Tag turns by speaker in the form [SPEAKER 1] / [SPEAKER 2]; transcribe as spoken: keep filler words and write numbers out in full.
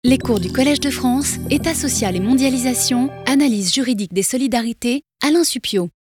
[SPEAKER 1] Les cours du Collège de France, État social et mondialisation, analyse juridique des solidarités, Alain Supiot.